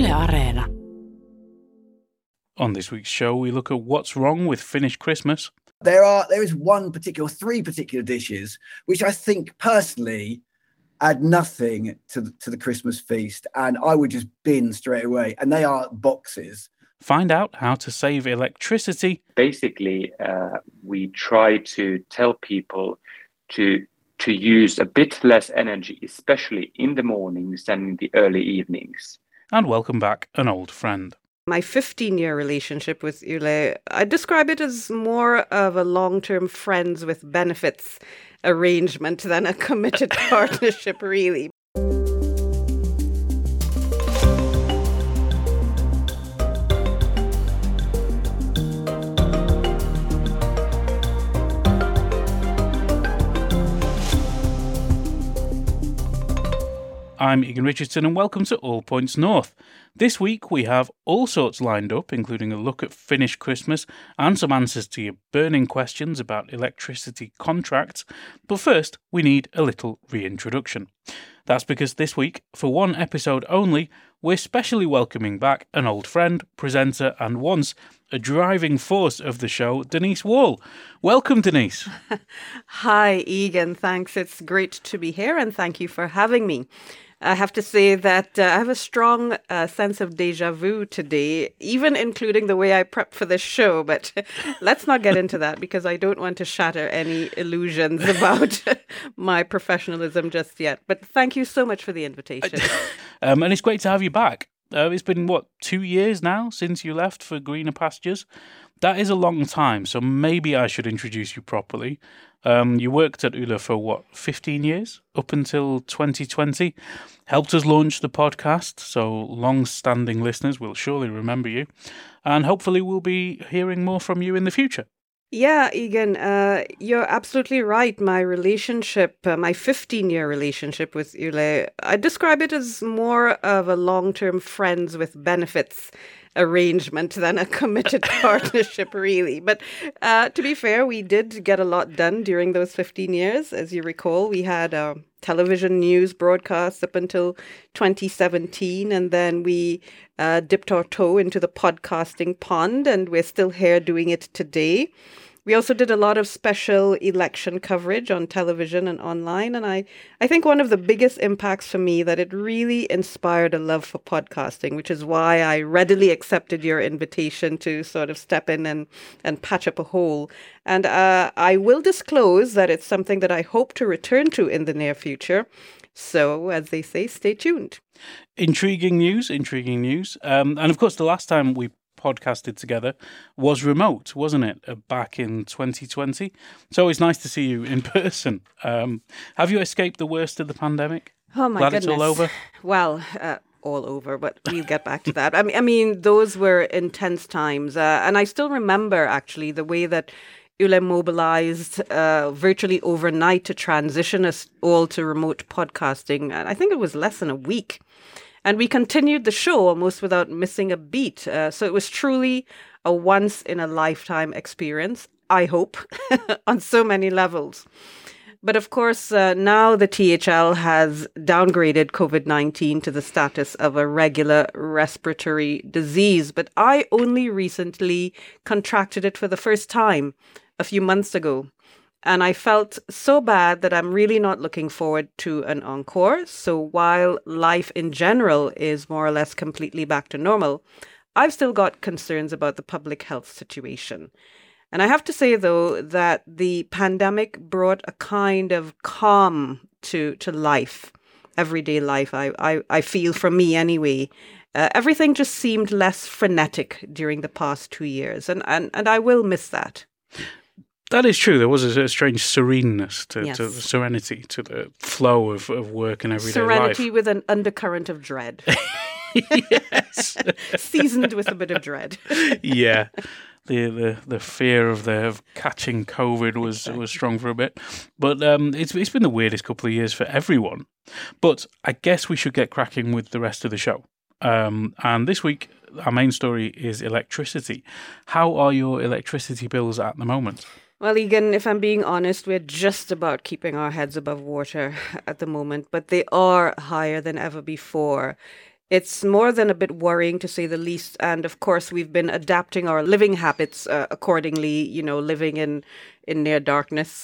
Yle Areena. On this week's show, we look at what's wrong with Finnish Christmas. There is three particular dishes which I think personally add nothing to the Christmas feast, and I would just bin straight away. And they are boxes. Find out how to save electricity. Basically, we try to tell people to use a bit less energy, especially in the mornings than in the early evenings. And welcome back an old friend. My 15-year relationship with Yle, I describe it as more of a long-term friends with benefits arrangement than a committed partnership, really. I'm Egan Richardson and welcome to All Points North. This week we have all sorts lined up, including a look at Finnish Christmas and some answers to your burning questions about electricity contracts. But first, we need a little reintroduction. That's because this week, for one episode only, we're specially welcoming back an old friend, presenter and once a driving force of the show, Denise Wall. Welcome, Denise. Hi, Egan. Thanks. It's great to be here and thank you for having me. I have to say that I have a strong sense of déjà vu today, even including the way I prep for this show. But let's not get into that because I don't want to shatter any illusions about my professionalism just yet. But thank you so much for the invitation. And it's great to have you back. It's been, 2 years now since you left for greener pastures? That is a long time, so maybe I should introduce you properly. You worked at Yle for, 15 years? Up until 2020. Helped us launch the podcast, so long-standing listeners will surely remember you. And hopefully we'll be hearing more from you in the future. Yeah, Egan, you're absolutely right. My relationship, my 15-year relationship with Yle, I describe it as more of a long-term friends with benefits arrangement than a committed partnership, really. But to be fair, we did get a lot done during those 15 years. As you recall, we had television news broadcasts up until 2017, and then we dipped our toe into the podcasting pond, and we're still here doing it today. We also did a lot of special election coverage on television and online, and I think one of the biggest impacts for me that it really inspired a love for podcasting, which is why I readily accepted your invitation to sort of step in and patch up a hole. And I will disclose that it's something that I hope to return to in the near future. So, as they say, stay tuned. Intriguing news. And of course, the last time we podcasted together was remote, wasn't it? Back in 2020. It's always nice to see you in person. Have you escaped the worst of the pandemic? Oh my goodness. Glad it's all over? Well, all over, but we'll get back to that. I mean, those were intense times. And I still remember, actually, the way that Yle mobilized virtually overnight to transition us all to remote podcasting. And I think it was less than a week. And we continued the show almost without missing a beat. So it was truly a once-in-a-lifetime experience, I hope, on so many levels. But of course, now the THL has downgraded COVID-19 to the status of a regular respiratory disease. But I only recently contracted it for the first time a few months ago. And I felt so bad that I'm really not looking forward to an encore. So while life in general is more or less completely back to normal, I've still got concerns about the public health situation. And I have to say, though, that the pandemic brought a kind of calm to life, everyday life, I feel, for me anyway. Everything just seemed less frenetic during the past 2 years. And I will miss that. That is true. There was a strange sereneness to Yes. the serenity, to the flow of work and everyday Serenity life. with an undercurrent of dread. Yes. Seasoned with a bit of dread. Yeah. The fear of catching COVID was strong for a bit. But it's been the weirdest couple of years for everyone. But I guess we should get cracking with the rest of the show. And this week, our main story is electricity. How are your electricity bills at the moment? Well, Egan, if I'm being honest, we're just about keeping our heads above water at the moment, but they are higher than ever before. It's more than a bit worrying, to say the least. And of course, we've been adapting our living habits accordingly, living in near darkness.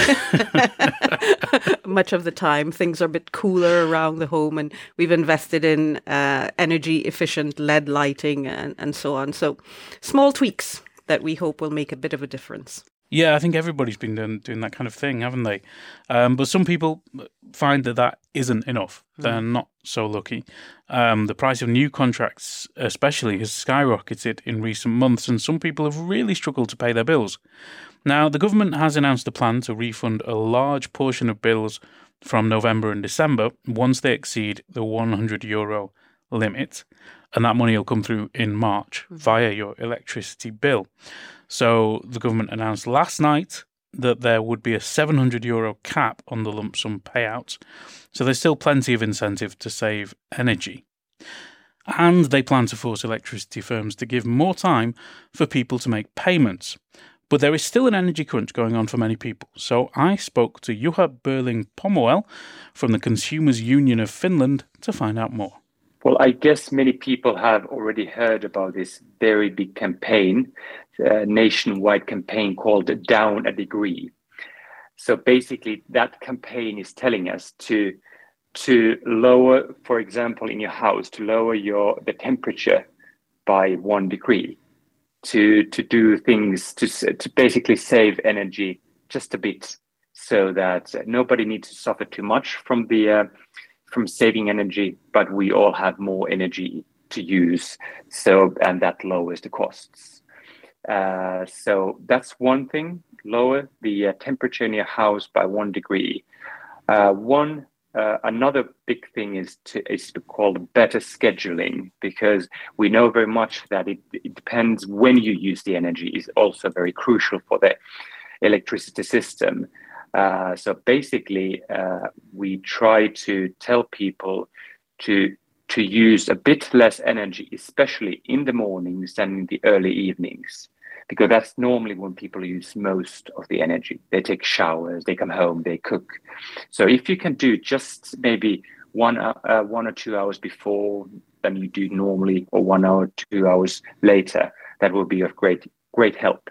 Much of the time, things are a bit cooler around the home, and we've invested in energy efficient LED lighting and so on. So small tweaks that we hope will make a bit of a difference. Yeah, I think everybody's been doing that kind of thing, haven't they? But some people find that isn't enough. They're not so lucky. The price of new contracts, especially, has skyrocketed in recent months, and some people have really struggled to pay their bills. Now, the government has announced a plan to refund a large portion of bills from November and December once they exceed the €100 limit, and that money will come through in March via your electricity bill. So the government announced last night that there would be a €700 cap on the lump sum payouts. So there's still plenty of incentive to save energy. And they plan to force electricity firms to give more time for people to make payments. But there is still an energy crunch going on for many people. So I spoke to Juha Berling-Pomoel from the Consumers Union of Finland to find out more. Well, I guess many people have already heard about this very big campaign, nationwide campaign called Down a Degree. So basically, that campaign is telling us to lower, for example, in your house, to lower the temperature by 1 degree, to do things to basically save energy just a bit, so that nobody needs to suffer too much from saving energy, but we all have more energy to use. And that lowers the costs. So that's one thing: lower the temperature in your house by 1 degree. Another big thing is to call better scheduling, because we know very much that it depends when you use the energy is also very crucial for the electricity system. So basically, we try to tell people to use a bit less energy, especially in the mornings and in the early evenings, because that's normally when people use most of the energy. They take showers, they come home, they cook. So if you can do just maybe 1 or 2 hours before than you do normally, or 1 hour, 2 hours later, that will be of great help.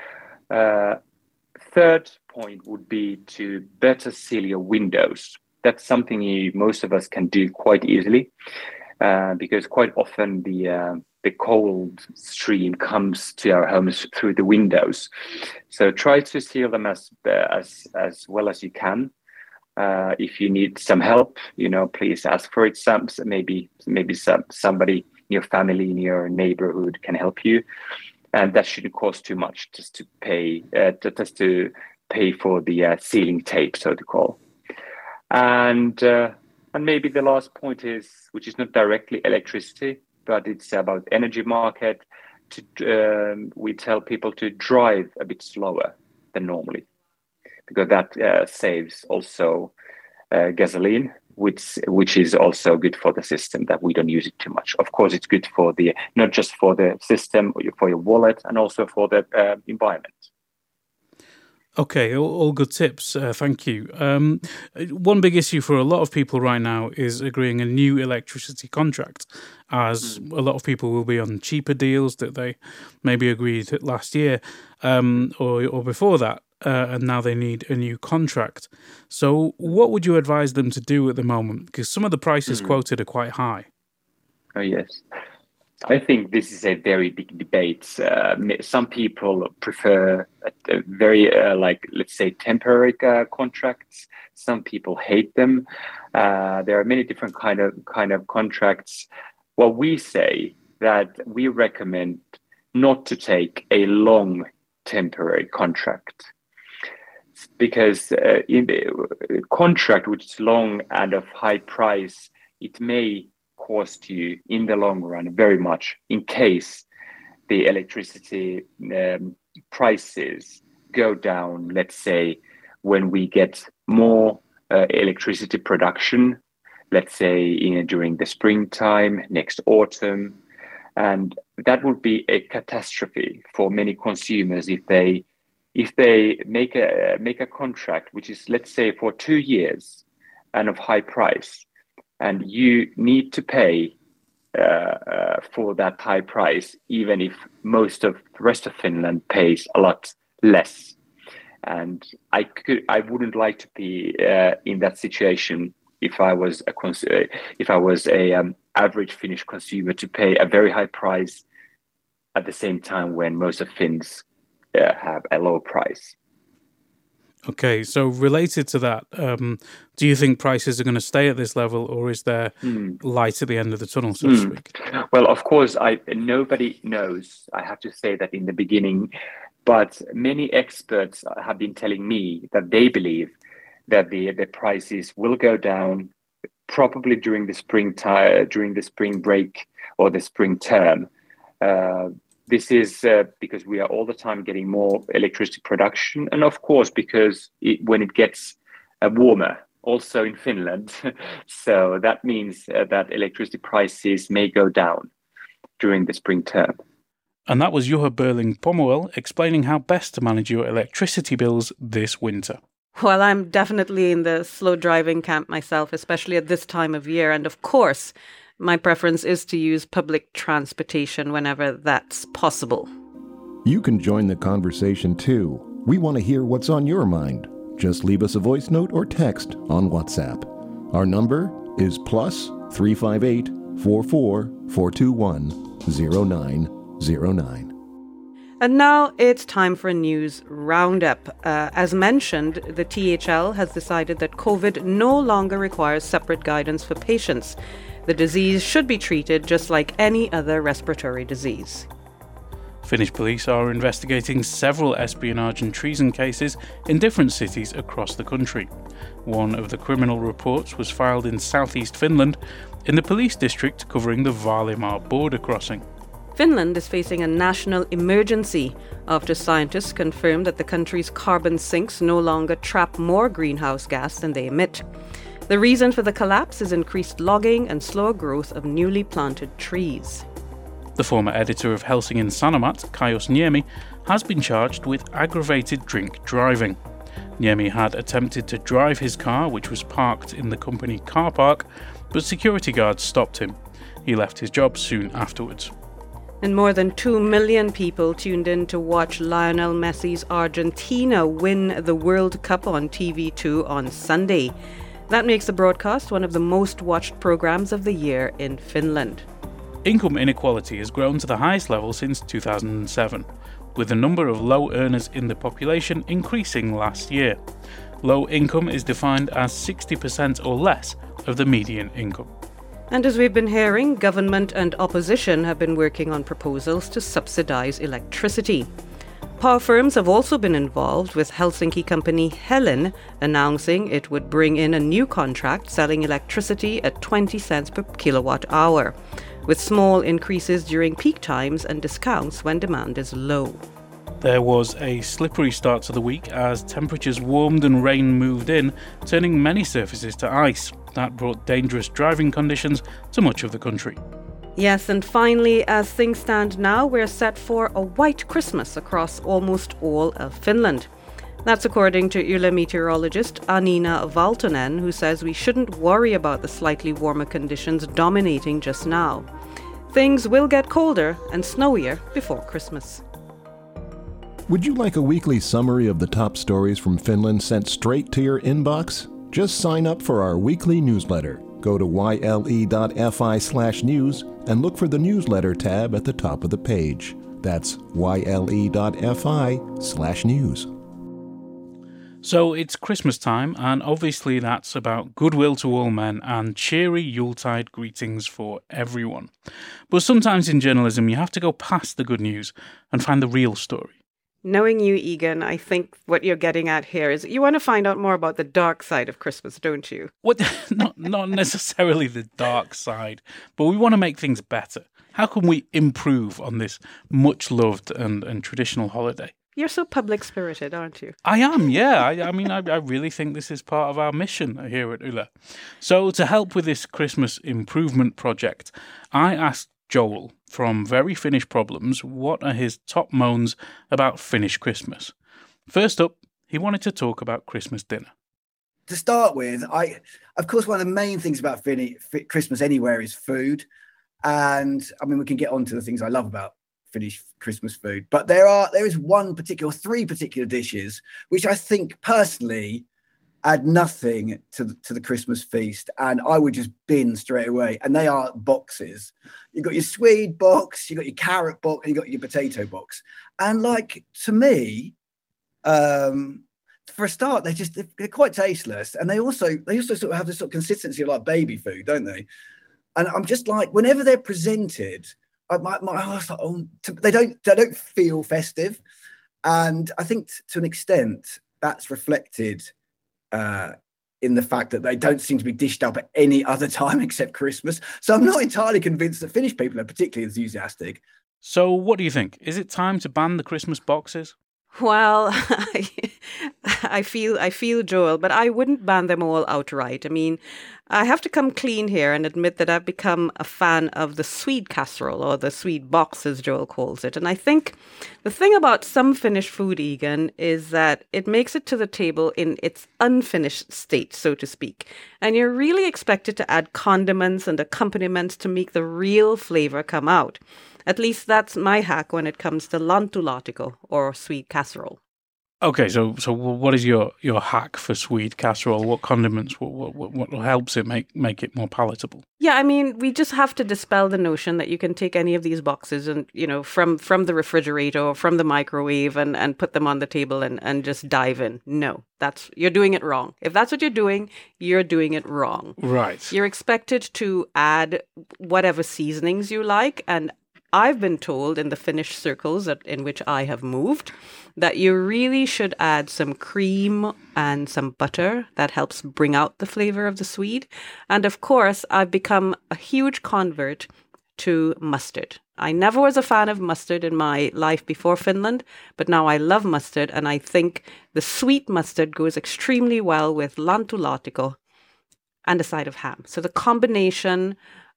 Third point would be to better seal your windows. That's something most of us can do quite easily, because quite often the cold stream comes to our homes through the windows. So try to seal them as well as you can. If you need some help, please ask for it. Maybe somebody in your family, in your neighborhood can help you. And that shouldn't cost too much, just to pay for the sealing tape, so to call. And maybe the last point is, which is not directly electricity, but it's about energy market. We tell people to drive a bit slower than normally, because that saves also gasoline, which is also good for the system, that we don't use it too much. Of course, it's good for not just for the system, for your wallet, and also for the environment. Okay, all good tips. Thank you. One big issue for a lot of people right now is agreeing a new electricity contract, as a lot of people will be on cheaper deals that they maybe agreed last year or before that, and now they need a new contract. So what would you advise them to do at the moment? Because some of the prices quoted are quite high. Oh, yes. I think this is a very big debate. Some people prefer a very, let's say, temporary contracts. Some people hate them. There are many different kind of contracts. What we say that we recommend not to take a long temporary contract, because in the contract which is long and of high price, it may cost you in the long run very much in case the electricity prices go down. Let's say when we get more electricity production, let's say during the springtime, next autumn, and that would be a catastrophe for many consumers if they make a contract which is, let's say, for 2 years and of high price, and you need to pay for that high price, even if most of the rest of Finland pays a lot less. And I wouldn't like to be in that situation if I was a average Finnish consumer, to pay a very high price at the same time when most of Finns have a low price. Okay, so related to that, do you think prices are going to stay at this level, or is there light at the end of the tunnel, so to speak? Well, of course, nobody knows. I have to say that in the beginning, but many experts have been telling me that they believe that the prices will go down probably during the spring break or the spring term. This is because we are all the time getting more electricity production, and of course because when it gets warmer, also in Finland, so that means that electricity prices may go down during the spring term. And that was Juha Berling-Pomoel explaining how best to manage your electricity bills this winter. Well, I'm definitely in the slow driving camp myself, especially at this time of year. And of course, my preference is to use public transportation whenever that's possible. You can join the conversation too. We want to hear what's on your mind. Just leave us a voice note or text on WhatsApp. Our number is +358 44 421 0909. And now it's time for a news roundup. As mentioned, the THL has decided that COVID no longer requires separate guidance for patients. The disease should be treated just like any other respiratory disease. Finnish police are investigating several espionage and treason cases in different cities across the country. One of the criminal reports was filed in southeast Finland, in the police district covering the Vaalimaa border crossing. Finland is facing a national emergency after scientists confirmed that the country's carbon sinks no longer trap more greenhouse gas than they emit. The reason for the collapse is increased logging and slower growth of newly planted trees. The former editor of Helsingin Sanomat, Kaius Niemi, has been charged with aggravated drink driving. Niemi had attempted to drive his car, which was parked in the company car park, but security guards stopped him. He left his job soon afterwards. And more than 2 million people tuned in to watch Lionel Messi's Argentina win the World Cup on TV2 on Sunday. That makes the broadcast one of the most watched programs of the year in Finland. Income inequality has grown to the highest level since 2007, with the number of low earners in the population increasing last year. Low income is defined as 60% or less of the median income. And as we've been hearing, government and opposition have been working on proposals to subsidize electricity. Power firms have also been involved, with Helsinki company Helen announcing it would bring in a new contract selling electricity at 20 cents per kilowatt hour, with small increases during peak times and discounts when demand is low. There was a slippery start to the week as temperatures warmed and rain moved in, turning many surfaces to ice. That brought dangerous driving conditions to much of the country. Yes, and finally, as things stand now, we're set for a white Christmas across almost all of Finland. That's according to Yle meteorologist Anina Valtonen, who says we shouldn't worry about the slightly warmer conditions dominating just now. Things will get colder and snowier before Christmas. Would you like a weekly summary of the top stories from Finland sent straight to your inbox? Just sign up for our weekly newsletter. Go to yle.fi/news and look for the newsletter tab at the top of the page. That's yle.fi/news. So it's Christmas time, and obviously that's about goodwill to all men and cheery Yuletide greetings for everyone. But sometimes in journalism you have to go past the good news and find the real story. Knowing you, Egan, I think what you're getting at here is you want to find out more about the dark side of Christmas, don't you? What? Not necessarily the dark side, but we want to make things better. How can we improve on this much-loved and traditional holiday? You're so public-spirited, aren't you? I am, yeah. I really think this is part of our mission here at Yle. So to help with this Christmas improvement project, I asked Joel from Very Finnish Problems what are his top moans about Finnish Christmas. First up, he wanted to talk about Christmas dinner. To start with, of course, one of the main things about Christmas anywhere is food. And I mean, we can get on to the things I love about Finnish Christmas food, but there is three particular dishes which I think personally add nothing to the Christmas feast, and I would just bin straight away. And they are boxes. You've got your Swede box, you've got your carrot box, and you've got your potato box. And like, to me, for a start, they're quite tasteless, and they also sort of have this sort of consistency of like baby food, don't they? And I'm just like, whenever they're presented, my heart's like, they don't feel festive, and I think to an extent that's reflected in the fact that they don't seem to be dished up at any other time except Christmas. So I'm not entirely convinced that Finnish people are particularly enthusiastic. So what do you think? Is it time to ban the Christmas boxes? Well, I feel Joel, but I wouldn't ban them all outright. I mean, I have to come clean here and admit that I've become a fan of the Swede casserole, or the Swede box, as Joel calls it. And I think the thing about some Finnish food, Egan, is that it makes it to the table in its unfinished state, so to speak. And you're really expected to add condiments and accompaniments to make the real flavor come out. At least that's my hack when it comes to lantulaatikko, or Swede casserole. Okay, so what is your hack for Swede casserole? What condiments? What helps it make it more palatable? Yeah, I mean, we just have to dispel the notion that you can take any of these boxes and, from the refrigerator or from the microwave and put them on the table and just dive in. No, you're doing it wrong. If that's what you're doing it wrong. Right. You're expected to add whatever seasonings you like, and I've been told in the Finnish circles in which I have moved that you really should add some cream and some butter. That helps bring out the flavor of the Swede. And of course, I've become a huge convert to mustard. I never was a fan of mustard in my life before Finland, but now I love mustard, and I think the sweet mustard goes extremely well with lantulaatikko and a side of ham. So the combination,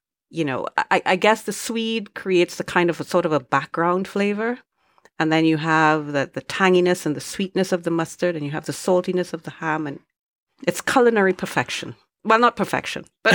I guess the Swede creates the kind of a sort of a background flavor. And then you have the tanginess and the sweetness of the mustard, and you have the saltiness of the ham, and it's culinary perfection. Well, not perfection, but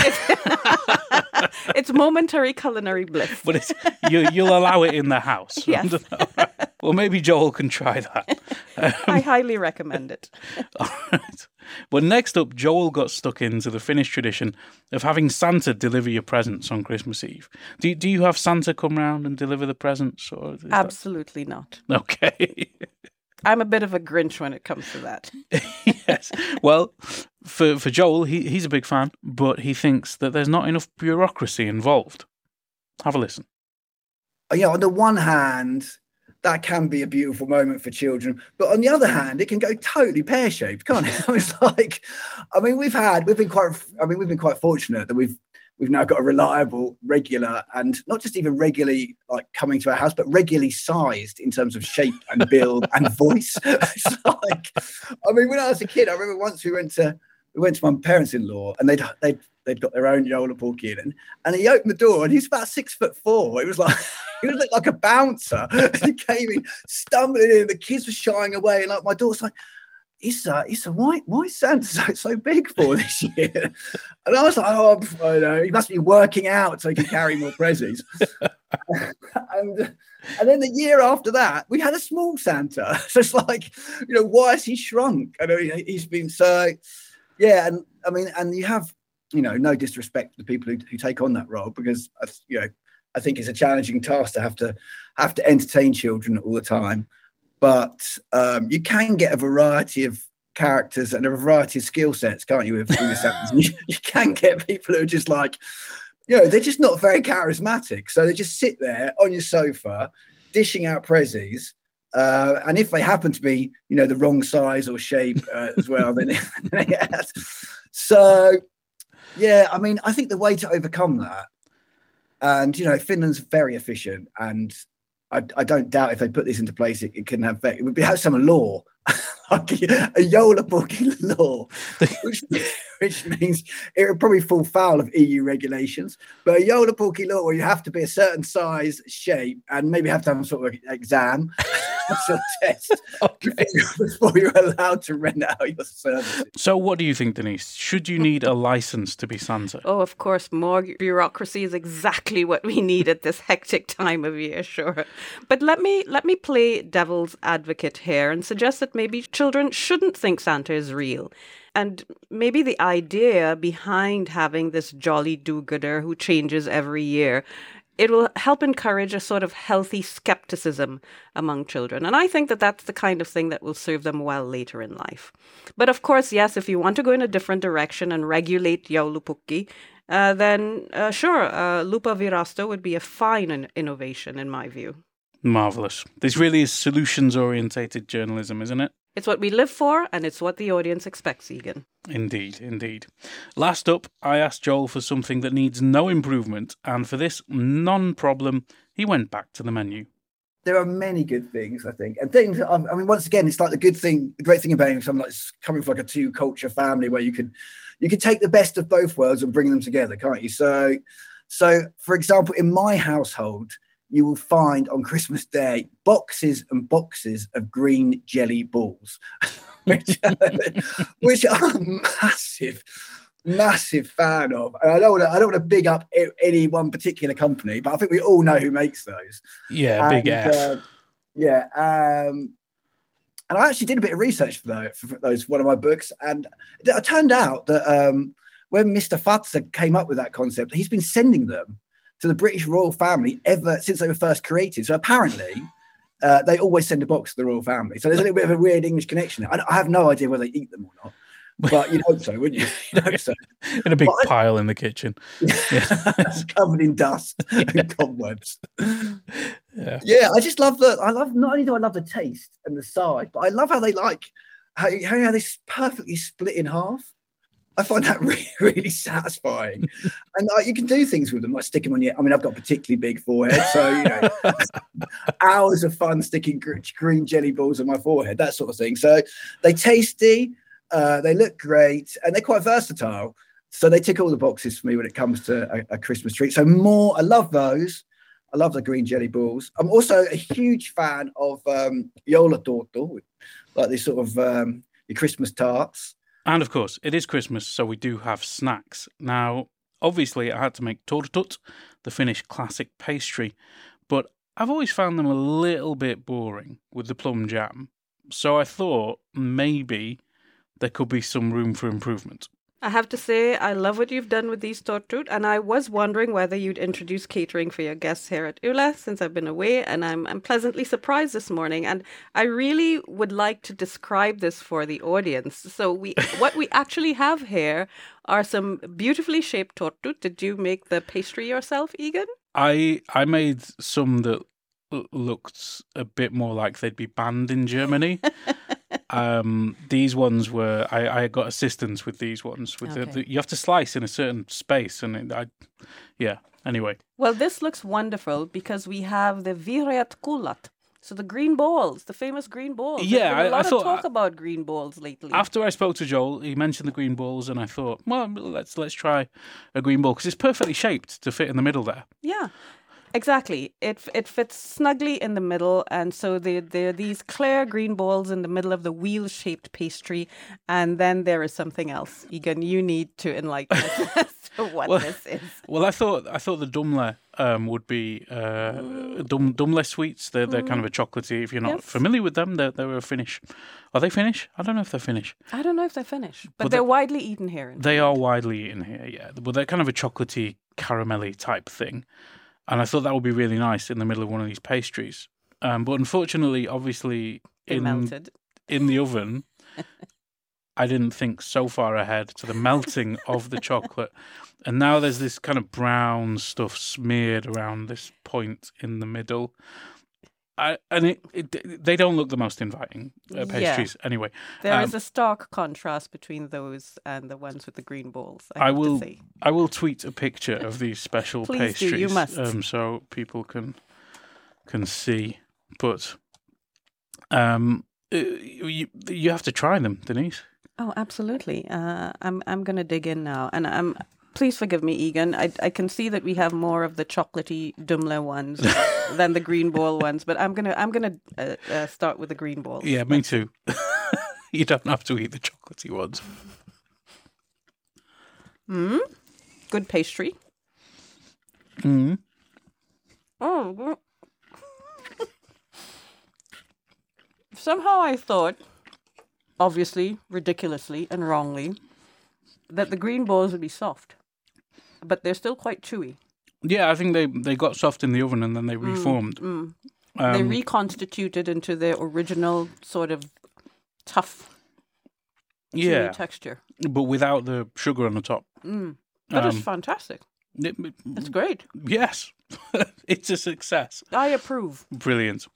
it's momentary culinary bliss. But you'll allow it in the house. Yes. Well, maybe Joel can try that. I highly recommend it. All right. Well, next up, Joel got stuck into the Finnish tradition of having Santa deliver your presents on Christmas Eve. Do you have Santa come round and deliver the presents? Or Absolutely not. Okay. I'm a bit of a Grinch when it comes to that. Yes. Well, for Joel, he's a big fan, but he thinks that there's not enough bureaucracy involved. Have a listen. On the one hand, that can be a beautiful moment for children, but on the other hand, it can go totally pear-shaped, can't it? It's like, we've been quite fortunate that we've now got a reliable, regular, and not just even regularly like coming to our house, but regularly sized in terms of shape and build and voice. It's like, when I was a kid, I remember once we went to my parents-in-law, and they'd got their own Joel Apoki in, and he opened the door, and he's about 6'4". It was like he looked like a bouncer. And he came in, stumbling in. The kids were shying away, and like my daughter's like, Issa, why is Santa so big for this year? And I was like, I know, he must be working out so he can carry more presents. and then the year after that, we had a small Santa. So it's like, why has he shrunk? I know he's been so, yeah. And and you have, no disrespect to the people who take on that role, because I think it's a challenging task to have to entertain children all the time. But you can get a variety of characters and a variety of skill sets, can't you? You can get people who are just like, they're just not very charismatic. So they just sit there on your sofa, dishing out prezzies. And if they happen to be, the wrong size or shape as well, then yes. So, yeah, I think the way to overcome that, and, Finland's very efficient, and I don't doubt if they put this into place, it can have some law a Joulupukki law, which means it would probably fall foul of EU regulations. But a Joulupukki law where you have to be a certain size, shape, and maybe have to have some sort of exam, sort of test before you're allowed to rent out your services. So what do you think, Denise? Should you need a license to be Santa? Oh, of course, more bureaucracy is exactly what we need at this hectic time of year, sure. But let me play devil's advocate here and suggest that maybe children shouldn't think Santa is real. And maybe the idea behind having this jolly do-gooder who changes every year, it will help encourage a sort of healthy skepticism among children. And I think that that's the kind of thing that will serve them well later in life. But of course, yes, if you want to go in a different direction and regulate Joulupukki, then sure, Lupa Virasto would be a fine innovation in my view. Marvellous. This really is solutions-orientated journalism, isn't it? It's what we live for, and it's what the audience expects, Egan. Indeed, indeed. Last up, I asked Joel for something that needs no improvement, and for this non-problem, he went back to the menu. There are many good things, I think. And things, I mean, once again, it's like the great thing about something like coming from like a two-culture family where you can take the best of both worlds and bring them together, can't you? So for example, in my household, you will find on Christmas Day boxes and boxes of green jelly balls, which I'm massive fan of. And I don't want to big up any one particular company, but I think we all know who makes those. Yeah, big F. And I actually did a bit of research for those one of my books, and it turned out that when Mr. Fazer came up with that concept, he's been sending them to the British royal family ever since they were first created. So apparently, they always send a box to the royal family. So there's a little bit of a weird English connection. I have no idea whether they eat them or not, but you'd hope so, wouldn't you? You'd hope so. In a big pile in the kitchen. Covered in dust and cobwebs. Yeah, I just love not only do I love the taste and the side, but I love how they how they perfectly split in half. I find that really, really satisfying. And you can do things with them, like stick them on your... I mean, I've got a particularly big forehead, so, hours of fun sticking green jelly balls on my forehead, that sort of thing. So they're tasty, they look great, and they're quite versatile. So they tick all the boxes for me when it comes to a Christmas treat. So I love those. I love the green jelly balls. I'm also a huge fan of joulutorttu, like this sort of your Christmas tarts. And of course, it is Christmas, so we do have snacks. Now, obviously, I had to make tortut, the Finnish classic pastry, but I've always found them a little bit boring with the plum jam. So I thought maybe there could be some room for improvement. I have to say, I love what you've done with these tortut, and I was wondering whether you'd introduce catering for your guests here at Yle since I've been away, and I'm pleasantly surprised this morning. And I really would like to describe this for the audience. So what we actually have here are some beautifully shaped tortut. Did you make the pastry yourself, Egan? I made some that looked a bit more like they'd be banned in Germany. These ones were I got assistance with these ones with you have to slice in a certain space, and anyway. Well, this looks wonderful because we have the vireat kullat, so the green balls, the famous green balls. Yeah, There's been a lot of talk about green balls lately. After I spoke to Joel, he mentioned the green balls, and I thought, well, let's try a green ball because it's perfectly shaped to fit in the middle there. Yeah. Exactly. It fits snugly in the middle, and so there are these clear green balls in the middle of the wheel-shaped pastry, and then there is something else. Egan, you need to enlighten us as to what this is. Well, I thought the dumle would be dumle sweets. They're kind of a chocolatey. If you're not familiar with them, they're Finnish. Are they Finnish? I don't know if they're Finnish. I don't know if they're Finnish, but they're widely eaten here. They are widely eaten here, yeah. Well, they're kind of a chocolatey, caramelly type thing. And I thought that would be really nice in the middle of one of these pastries. But unfortunately, obviously, melted in the oven, I didn't think so far ahead to the melting of the chocolate. And now there's this kind of brown stuff smeared around this point in the middle. They don't look the most inviting pastries anyway. There is a stark contrast between those and the ones with the green balls. I will tweet a picture of these special Please pastries. Do, you must. So people can see. But You have to try them, Denise. Oh, absolutely. I'm going to dig in now, and please forgive me, Egan. I can see that we have more of the chocolatey Dumle ones than the green ball ones, but I'm gonna start with the green balls. Yeah, me too. You don't have to eat the chocolatey ones. Good pastry. Oh. Somehow I thought, obviously, ridiculously and wrongly, that the green balls would be soft. But they're still quite chewy. Yeah, I think they got soft in the oven and then they reformed. They reconstituted into their original sort of tough, chewy texture. But without the sugar on the top. That is fantastic. It's great. Yes, it's a success. I approve. Brilliant.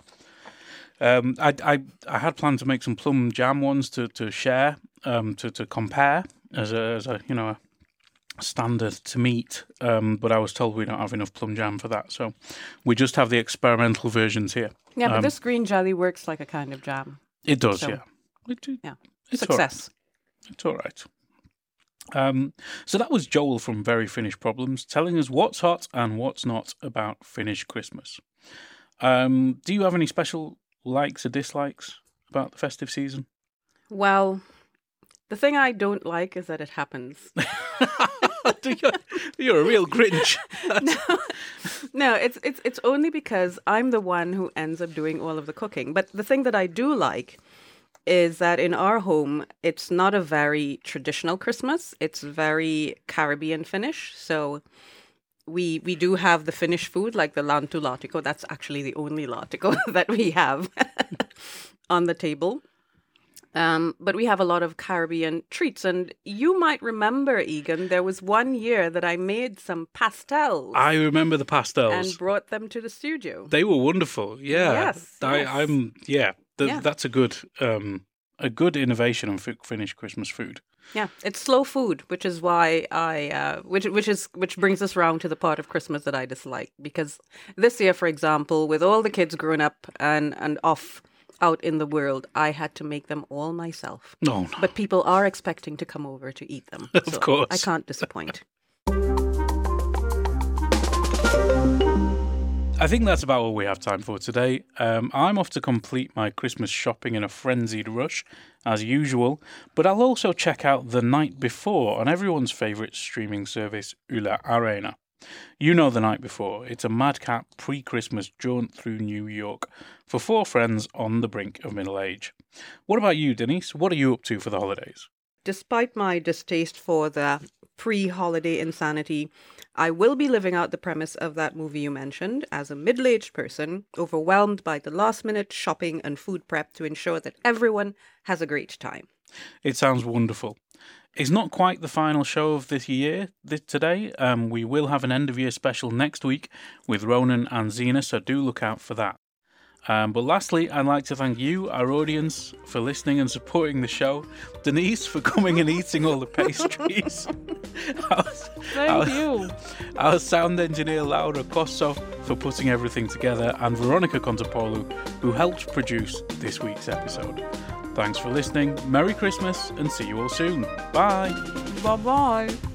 I had planned to make some plum jam ones to share, to compare as a standard to meet, but I was told we don't have enough plum jam for that, so we just have the experimental versions here. Yeah, but this green jelly works like a kind of jam. It does, so, yeah. It's success. It's all right. So that was Joel from Very Finnish Problems telling us what's hot and what's not about Finnish Christmas. Do you have any special likes or dislikes about the festive season? Well, the thing I don't like is that it happens. You're a real Grinch. No, it's only because I'm the one who ends up doing all of the cooking. But the thing that I do like is that in our home, it's not a very traditional Christmas. It's very Caribbean Finnish. So we do have the Finnish food, like the lantulaatikko. That's actually the only laatikko that we have on the table. But we have a lot of Caribbean treats. And you might remember, Egan, there was one year that I made some pastels. I remember the pastels. And brought them to the studio. They were wonderful. Yeah. Yes. That's a good innovation on Finnish Christmas food. Yeah, it's slow food, which is why which brings us round to the part of Christmas that I dislike. Because this year, for example, with all the kids grown up and off out in the world, I had to make them all myself. No. But people are expecting to come over to eat them. Of course. I can't disappoint. I think that's about all we have time for today. I'm off to complete my Christmas shopping in a frenzied rush, as usual, but I'll also check out The Night Before on everyone's favourite streaming service, Yle Areena. You know The Night Before. It's a madcap pre-Christmas jaunt through New York for four friends on the brink of middle age. What about you, Denise? What are you up to for the holidays? Despite my distaste for the pre-holiday insanity, I will be living out the premise of that movie you mentioned as a middle-aged person, overwhelmed by the last-minute shopping and food prep to ensure that everyone has a great time. It sounds wonderful. It's not quite the final show of this year today. We will have an end-of-year special next week with Ronan and Zena, so do look out for that. But lastly, I'd like to thank you, our audience, for listening and supporting the show. Denise, for coming and eating all the pastries. Thank you. Our sound engineer, Laura Kosso, for putting everything together, and Veronica Contopoulou, who helped produce this week's episode. Thanks for listening. Merry Christmas, and see you all soon. Bye. Bye-bye.